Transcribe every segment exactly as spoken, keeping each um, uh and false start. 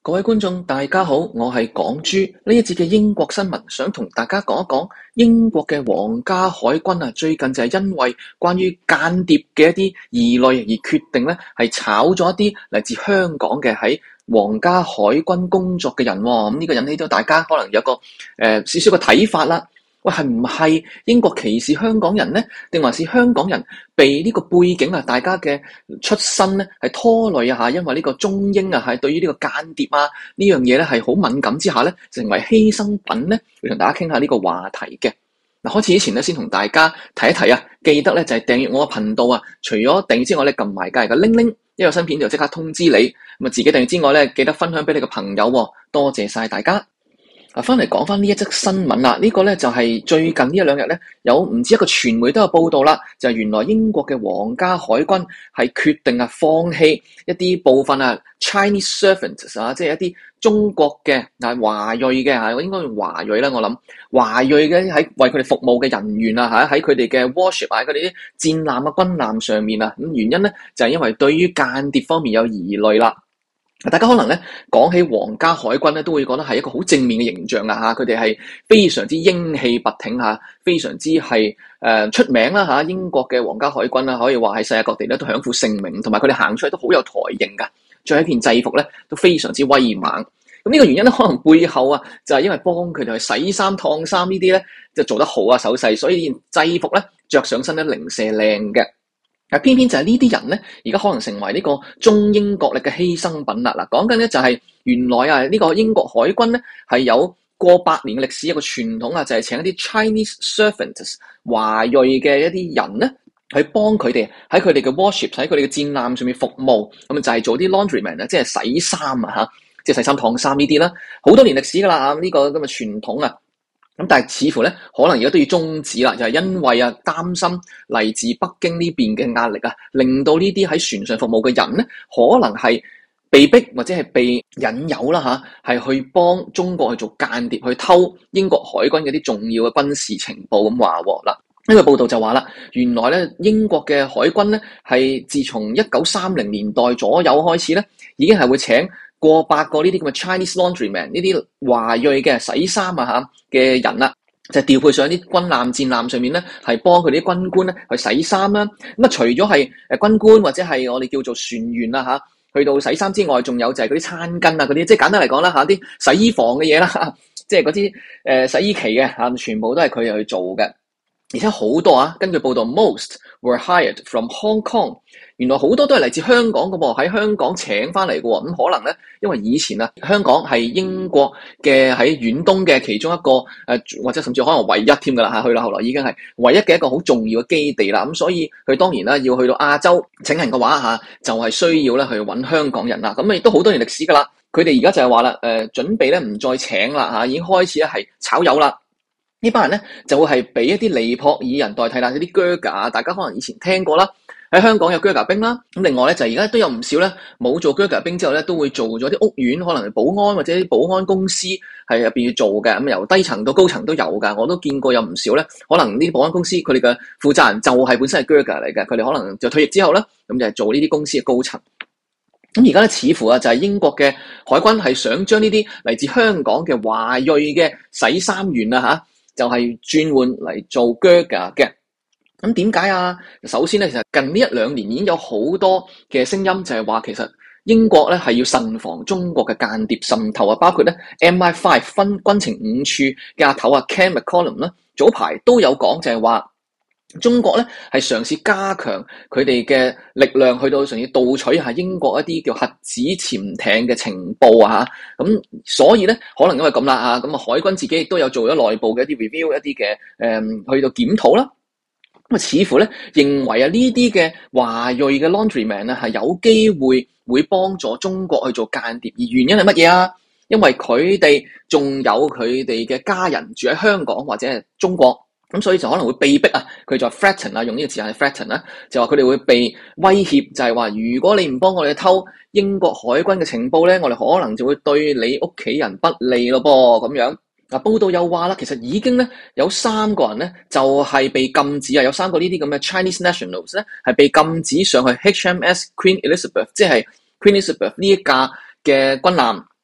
各位觀眾，大家好，我係港豬。呢一節嘅英國新聞，想同大家講一講英國嘅皇家海軍啊，最近就係因為關於間諜嘅一啲疑慮而決定咧，係炒咗一啲嚟自香港嘅喺皇家海軍工作嘅人。咁、這、呢個引起咗大家可能有個誒、呃、少少嘅睇法啦。喂，係唔係英國歧視香港人呢？定還是香港人被呢個背景啊，大家嘅出身咧係拖累啊？嚇，因為呢個中英啊，係對於呢個間諜啊呢樣嘢咧係好敏感之下咧，成為犧牲品咧，會同大家傾下呢個話題嘅。嗱，開始之前咧，先同大家提一提啊，記得咧就係訂閱我嘅頻道啊。除咗訂閱之外咧，撳埋隔籬嘅鈴鈴，一有新片就即刻通知你。咁啊，自己訂閱之外咧，記得分享俾你嘅朋友喎。多謝晒大家。啊，翻嚟講翻呢一則新聞啦，呢、這個咧就係最近呢一兩日咧，有唔止一個傳媒都有報道啦，就係、是、原來英國嘅皇家海軍係決定啊放棄一啲部分啊 Chinese servants 啊，即係一啲中國嘅啊華裔嘅嚇，我應該用華裔啦，我諗華裔嘅喺為佢哋服務嘅人員啊嚇，喺佢哋嘅 warship 啊，佢哋啲戰艦啊軍艦上面啊，咁原因咧就係、是、因為對於間諜方面有疑慮啦。大家可能咧講起皇家海軍咧，都會覺得係一個好正面嘅形象啊！吓，佢哋係非常之英氣拔挺吓，非常之係誒、呃、出名啦吓。英國嘅皇家海軍啦，可以話喺世界各地咧都享負盛名，同埋佢哋行出嚟都好有台型噶，着一件制服咧都非常之威猛。咁呢個原因咧，可能背後啊就係因為幫佢哋去洗衫燙衫呢啲咧就做得好啊手勢，所以件制服咧着上身咧零舍靚嘅。嗱，偏偏就係呢啲人咧，而家可能成為呢個中英角力嘅犧牲品啦。嗱，講緊咧就係原來啊，呢個英國海軍咧係有過百年嘅歷史，一個傳統啊，就係請一啲 Chinese servants 華裔嘅一啲人咧，去幫佢哋喺佢哋嘅 warship 喺佢哋嘅戰艦上面服務，咁就係做啲 laundryman 啊，即係洗衫啊嚇，即係洗衫燙衫呢啲啦，好多年歷史噶啦，呢個咁嘅傳統啊。咁但係似乎咧，可能而家都要終止啦，就係、是、因為啊，擔心嚟自北京呢邊嘅壓力啊，令到呢啲喺船上服務嘅人咧，可能係被逼或者係被引誘啦吓，係去幫中國去做間諜，去偷英國海軍嗰啲重要嘅軍事情報咁話喎。嗱，呢個報道就話啦，原來咧英國嘅海軍咧係自從一九三零年代左右開始咧，已經係會請過百個呢啲咁嘅 Chinese laundryman 呢啲華裔嘅洗衫啊嚇嘅人啦，就調配上啲軍艦戰艦上面咧，係幫佢啲軍官咧去洗衫啦。咁啊，除咗係誒軍官或者係我哋叫做船員啦嚇，去到洗衫之外，仲有就係嗰啲餐巾啊嗰啲，即係簡單嚟講啦嚇，啲洗衣房嘅嘢啦，即係嗰啲誒洗衣機嘅嚇，全部都係佢哋去做嘅。而且好多啊，根據報道 ，most were hired from Hong Kong。原來好多都係嚟自香港嘅喎，喺香港請翻嚟嘅喎。咁可能咧，因為以前啊，香港係英國嘅喺遠東嘅其中一個誒、呃，或者甚至可能唯一添㗎啦嚇。去到後來已經係唯一嘅一個好重要嘅基地啦。咁所以佢當然啦，要去到亞洲請人嘅話嚇，就係、是、需要咧去揾香港人啦。咁亦都好多年歷史㗎啦。佢哋而家就係話啦，誒、呃、準備咧唔再請啦嚇，已經開始咧係炒魷啦。呢班人咧就會係俾一啲尼泊爾人代替啦，有啲 Gurkha， 大家可能以前聽過啦。喺香港有 Gurkha 兵啦，咁另外咧就而家都有唔少咧冇做 Gurkha 兵之後咧，都會做咗啲屋苑，可能係保安或者啲保安公司係入邊要做嘅。咁由低層到高層都有噶，我都見過有唔少咧。可能呢啲保安公司佢哋嘅負責人就係本身係 Gurkha 嚟嘅，佢哋可能就退役之後咧，咁就係做呢啲公司嘅高層。咁而家咧似乎啊就係英國嘅海軍係想將呢啲嚟自香港嘅華裔嘅洗衫員啊吓，就係轉換嚟做 Gurkha 嘅。咁點解啊？首先咧，其實近呢一兩年已經有好多嘅聲音，就係話其實英國咧係要慎防中國嘅間諜滲透啊，包括咧 M I 五 分軍情五處嘅阿頭啊 Ken McCallum 啦，早排都有講就係話中國咧係嘗試加強佢哋嘅力量，去到嘗試盜取下英國一啲叫核子潛艇嘅情報啊嚇。咁所以咧，可能因為咁啦嚇，咁啊海軍自己亦都有做咗內部嘅一啲 review， 一啲嘅誒去到檢討啦。咁啊，似乎咧認為啊呢啲嘅華裔嘅 laundryman 啊係有機會會幫助中國去做間諜，而原因係乜嘢啊？因為佢哋仲有佢哋嘅家人住喺香港或者係中國，咁所以就可能會被逼啊，佢就 threaten 啊，用呢個字眼係 threaten 啦，就話佢哋會被威脅，就係話如果你唔幫我哋偷英國海軍嘅情報咧，我哋可能就會對你屋企人不利咯噃，咁樣。嗱，報道又話啦，其實已經咧有三個人咧就係被禁止啊，有三個呢啲咁嘅 Chinese nationals 咧係被禁止上去 H M S Queen Elizabeth， 即係 Queen Elizabeth 呢一架嘅軍艦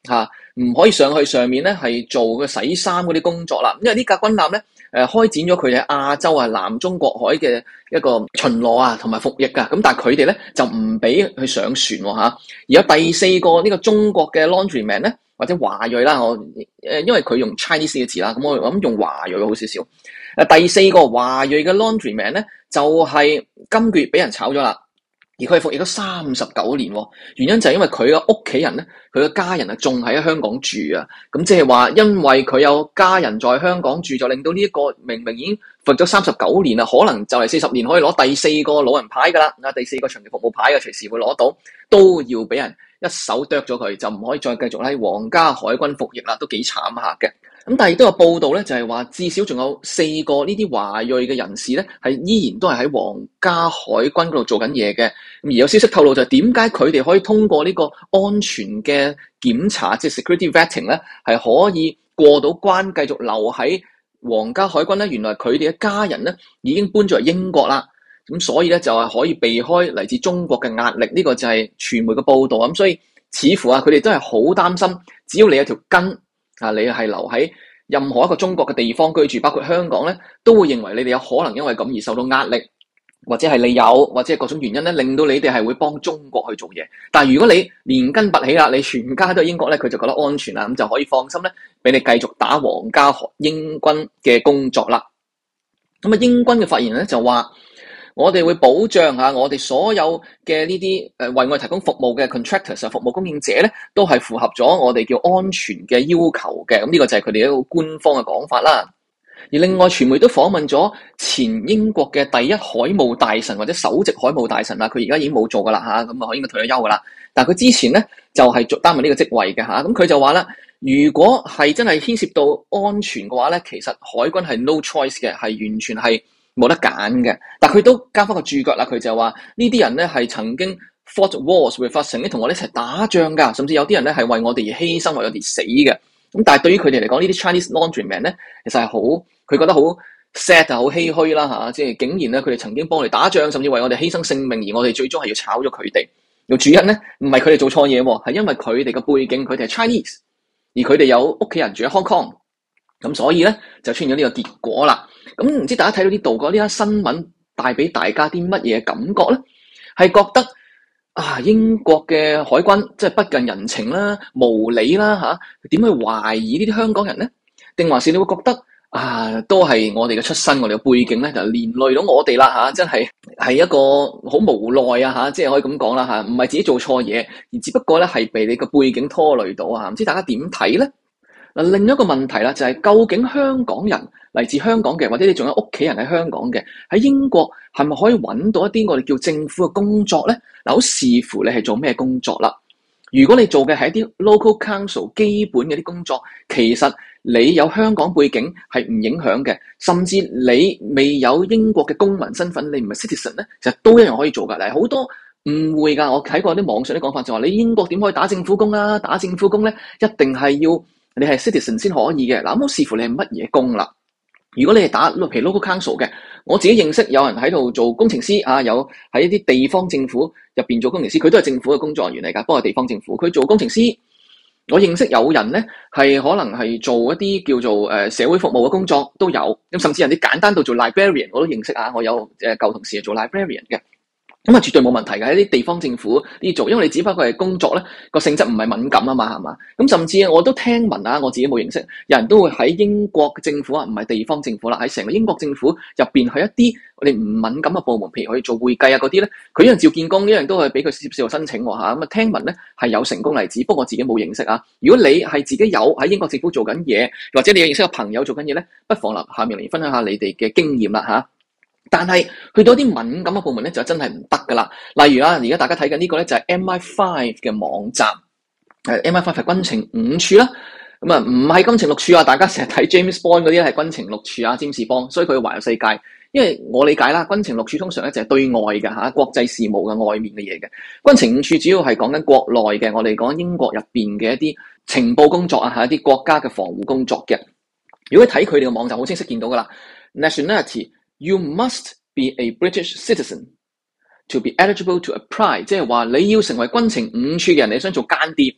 嚇，唔可以上去上面咧係做個洗衫嗰啲工作啦。因為呢架軍艦咧誒開展咗佢哋喺亞洲啊南中國海嘅一個巡邏啊同埋服役㗎。咁但係佢哋咧就唔俾佢上船喎嚇。而有第四個呢個中國嘅 laundryman 咧，或者華裔啦，我誒因為佢用 Chinese 嘅字啦，咁我諗用華裔好少少。誒第四個華裔嘅 laundryman 咧，就係、是、今個月俾人炒咗啦。而佢係服役咗三十九年，原因就係因為佢嘅屋企人咧，佢嘅家人啊，仲喺香港住啊。咁即係話，因為佢有家人在香港住，就令到呢一個明明已經服咗三十九年啦，可能就嚟四十年可以攞第四個老人牌噶啦，啊第四個長期服務牌嘅隨時會攞到，都要俾人一手剁咗佢，就唔可以再繼續喺皇家海軍服役啦，都幾慘下嘅。咁但係亦都有報道咧，就係話至少仲有四個呢啲華裔嘅人士咧，係依然都係喺皇家海軍嗰度做緊嘢嘅。咁而有消息透露就係點解佢哋可以通過呢個安全嘅檢查，即係 security vetting 咧，係可以過到關，繼續留喺皇家海軍咧？原來佢哋嘅家人咧已經搬咗嚟英國啦，咁所以咧就係可以避開嚟自中國嘅壓力。呢個就係傳媒嘅報道。咁所以似乎啊，佢哋都係好擔心，只要你有條根。啊！你係留喺任何一個中國嘅地方居住，包括香港咧，都會認為你哋有可能因為咁而受到壓力，或者係你有，或者係各種原因咧，令到你哋係會幫中國去做嘢。但係如果你連根拔起啦，你全家都係英國咧，佢就覺得安全啦，咁就可以放心咧，俾你繼續打皇家英軍嘅工作啦。咁啊，英軍嘅發言人咧就話：我哋會保障下我哋所有嘅呢啲誒為我哋提供服務嘅 contractors 啊，服務供應者咧，都係符合咗我哋叫安全嘅要求嘅。咁呢個就係佢哋一個官方嘅講法啦。而另外傳媒都訪問咗前英國嘅第一海務大臣或者首席海務大臣啦，佢而家已經冇做噶啦嚇，咁啊應該退咗休噶啦。但係佢之前咧就係做擔任呢個職位嘅嚇，咁佢就話啦，如果係真係牽涉到安全嘅話咧，其實海軍係 no choice 嘅，係完全係冇得揀嘅。但佢都加翻個注腳啦，佢就話呢啲人咧係曾經 fought wars with us，曾經同我哋一齊打仗㗎，甚至有啲人咧係為我哋而犧牲，為我哋死嘅。咁但係對於佢哋嚟講，呢啲 Chinese laundryman 咧，其實係好，佢覺得好 sad 啊，好唏噓啦嚇，即係竟然咧佢哋曾經幫我哋打仗，甚至為我哋犧牲性命，而我哋最終係要炒咗佢哋。個主因咧唔係佢哋做錯嘢喎，係因為佢哋嘅背景，佢哋係 Chinese，而佢哋有屋企人住喺 Hong Kong，咁所以咧就出現咗呢個結果啦。咁唔知大家睇到呢度嗰呢一新聞帶俾大家啲乜嘢感覺咧？係覺得啊，英國嘅海軍即係不近人情啦、無理啦嚇，點去懷疑呢啲香港人咧？定還是你會覺得啊，都係我哋嘅出身、我哋嘅背景咧，就連累到我哋啦嚇，真係係一個好無奈啊嚇，即係可以咁講啦嚇，唔係自己做錯嘢，而只不過咧係被你個背景拖累到啊！唔知大家點睇咧？嗱，另一個問題啦，就係究竟香港人嚟自香港嘅，或者你仲有屋企人喺香港嘅，喺英國係咪可以揾到一啲我哋叫政府嘅工作咧？嗱，好視乎你係做咩工作啦。如果你做嘅係一啲 local council 基本嘅啲工作，其實你有香港背景係唔影響嘅，甚至你未有英國嘅公民身份，你唔係 citizen 咧，其實都一樣可以做㗎。嗱，好多誤會㗎，我睇過啲網上啲講法就話，你英國點可以打政府工啊？打政府工咧，一定係要你係 citizen 先可以嘅。嗱，咁好視乎你係乜嘢工啦。如果你係打譬如 local council 嘅，我自己認識有人喺度做工程師啊，有喺一啲地方政府入邊做工程師，佢都係政府嘅工作人員嚟㗎，不過係地方政府，佢做工程師。我認識有人咧係可能係做一啲叫做誒、呃、社會服務嘅工作都有，咁甚至人哋簡單到做 librarian 我都認識啊，我有誒舊同事係做 librarian 嘅。咁啊，絕對冇問題嘅，喺啲地方政府呢做，因為你只不過係工作咧，個性質唔係敏感啊嘛，係嘛？咁甚至我都聽聞啊，我自己冇認識，有人都會喺英國政府啊，唔係地方政府啦，喺成個英國政府入邊去一啲我哋唔敏感嘅部門，譬如去做會計啊嗰啲咧，佢一樣照見工，一樣都係俾佢接受申請喎嚇。咁啊，聽聞咧係有成功例子，不過我自己冇認識啊。如果你係自己有喺英國政府做緊嘢，或者你有認識嘅朋友做緊嘢咧，不妨嚟下面嚟分享下你哋嘅經驗啦嚇。但係去到啲敏感嘅部門咧，就真係唔得噶啦。例如啊，而家大家睇緊呢個咧就係 M I 五 嘅網站，誒 M I 五 係軍情五處啦。咁啊，唔係軍情六處啊，大家成日睇 James Bond 嗰啲咧係軍情六處啊，占士邦，所以佢環遊世界。因為我理解啦，軍情六處通常咧就係對外嘅嚇，國際事務嘅外面嘅嘢嘅。軍情五處主要係講緊國內嘅，我哋講英國入邊嘅一啲情報工作啊，係一啲國家嘅防護工作嘅。如果睇佢哋嘅網站，好清晰見到噶啦 ，nationality。You must be a British citizen to be eligible to apply， 即係話你要成為軍情五處嘅人，你想做間諜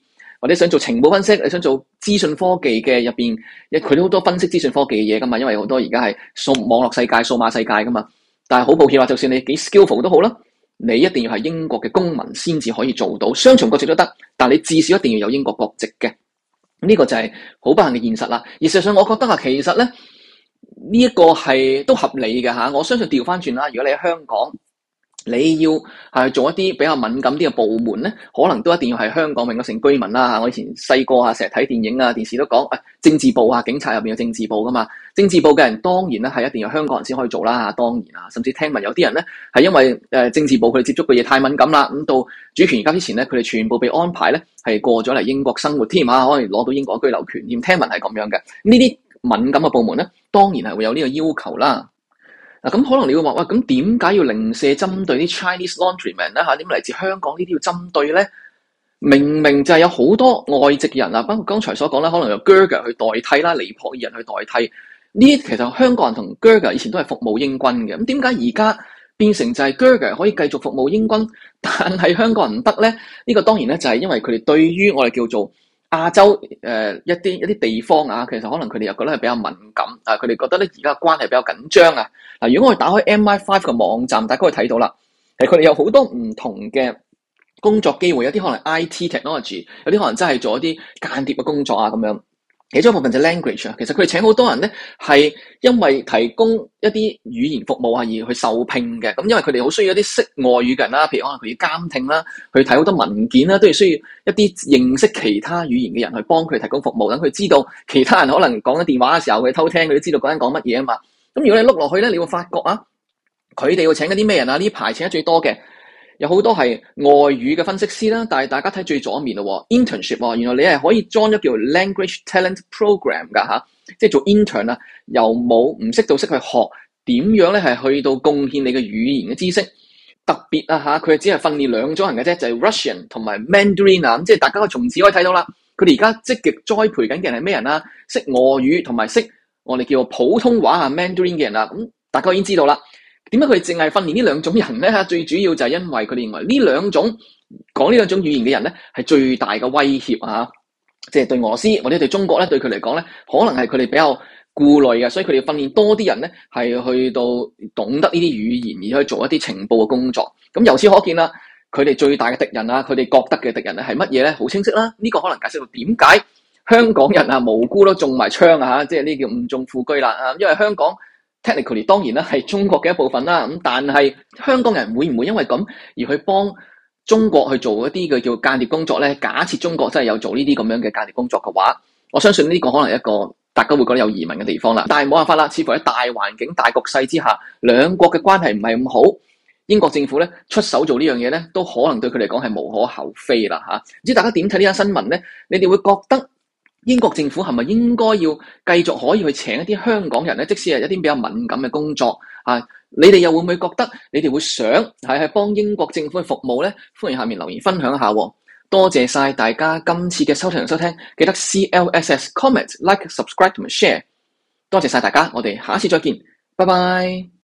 或者想做情報分析，你想做資訊科技嘅入邊，佢都好多分析資訊科技嘅嘢噶嘛，因為好多而家係數網絡世界、數碼世界噶嘛。但係好抱歉話，就算你幾 skillful 都好啦，你一定要係英國嘅公民先至可以做到，雙重國籍都得，但你至少一定要有英國國籍嘅。呢個就係好不幸嘅現實啦。而事實上，我覺得啊，其實咧呢一個係都合理嘅嚇。我相信調翻轉啦，如果你喺香港，你要係做一啲比較敏感啲嘅部門咧，可能都一定要係香港永久性居民啦嚇。我以前細個啊，成日睇電影啊、電視都講，誒政治部啊，警察入邊有政治部噶嘛。政治部嘅人當然咧係一定要香港人先可以做啦嚇，當然啊，甚至聽聞有啲人咧係因為誒政治部佢哋接觸嘅嘢太敏感啦，咁到主權移交之前咧，佢哋全部被安排咧係過咗嚟英國生活添啊，可以攞到英國居留權添。聽聞係咁樣嘅，呢啲敏感嘅部門咧，當然係會有呢個要求啦。嗱，咁可能你會話，喂，咁點解要零舍針對啲 Chinese laundrymen 咧嚇？點解嚟自香港呢啲要針對咧？明明就係有好多外籍人啊，包括剛才所講啦，可能由 Gurkha 去代替啦，尼泊爾人去代替。呢啲其實香港人同 Gurkha 以前都係服務英軍嘅。咁點解而家變成就係 Gurkha 可以繼續服務英軍，但係香港人唔得咧？呢個當然咧就係因為佢哋對於我哋叫做亞洲誒、呃、一啲一啲地方啊，其實可能佢哋又覺得係比較敏感啊，佢哋覺得咧而家關係比較緊張啊。嗱，如果我哋打開 M I 五 嘅網站，大家可以睇到啦，係佢哋有好多唔同嘅工作機會，有啲可能 I T technology， 有啲可能真係做一啲間諜嘅工作啊咁樣。其中一部分就係 language 啊，其實佢哋請好多人咧係因為提供一啲語言服務啊而去受聘嘅。咁因為佢哋好需要一啲識外語嘅人啦，譬如可能佢要監聽啦，去睇好多文件啦，都要需要一啲認識其他語言嘅人去幫佢提供服務，等佢知道其他人可能講緊電話嘅時候佢偷聽，佢都知道嗰人講乜嘢啊嘛。咁如果你碌落去咧，你會發覺啊，佢哋要請緊啲咩人啊？呢排請得最多嘅有好多係外語嘅分析師啦，但係大家睇最左面咯 ，internship 喎，原來你係可以 join 咗叫 language talent program 㗎吓，即係做 intern 啊，由冇唔識到識去學點樣咧係去到貢獻你嘅語言嘅知識，特別啊吓，佢只係訓練兩種人嘅啫，就係 Russian 同埋 Mandarin 啊，咁即係大家從此可以睇到啦，佢哋而家積極栽培緊嘅人係咩人啊？識俄語同埋識我哋叫做普通話啊 Mandarin 嘅人啊，咁大家已經知道啦。點解佢哋淨係訓練呢兩種人咧？最主要就係因為佢哋認為呢兩種講呢兩種語言嘅人咧係最大嘅威脅啊！即係對俄羅斯或者對中國咧，對佢嚟講咧，可能係佢哋比較顧慮嘅，所以佢哋訓練多啲人咧係去到懂得呢啲語言而去做一啲情報嘅工作。咁由此可見啦，佢哋最大嘅敵人啊，佢哋覺得嘅敵人咧係乜嘢咧？好清晰啦！呢個可能解釋到點解香港人啊無辜都中埋槍啊嚇，即係呢叫誤中副車啦啊！因為香港technically 當然啦，係中國嘅一部分啦。咁但係香港人會唔會因為咁而去幫中國去做一啲嘅叫間諜工作咧？假設中國真係有做呢啲咁樣嘅間諜工作嘅話，我相信呢個可能係一個大家會覺得有疑問嘅地方啦。但係冇辦法啦，似乎喺大環境、大局勢之下，兩國嘅關係唔係咁好，英國政府咧出手做呢樣嘢咧，都可能對佢嚟講係無可厚非啦嚇。唔知大家點睇呢單新聞咧？你哋會覺得英國政府係咪應該要繼續可以去請一啲香港人咧？即使係一啲比較敏感嘅工作啊，你哋又會唔會覺得你哋會想係係幫英國政府去服務咧？歡迎下面留言分享一下。多謝晒大家今次嘅收聽同收聽，記得 C L S S comment like subscribe 同埋 share。多謝晒大家，我哋下次再見，拜拜。